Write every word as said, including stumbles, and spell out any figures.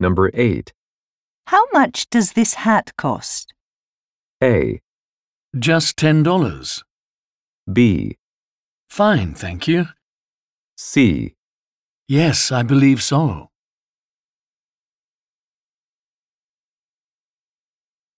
Number eight. How much does this hat cost? A. Just ten dollars. B. Fine, thank you. C. Yes, I believe so.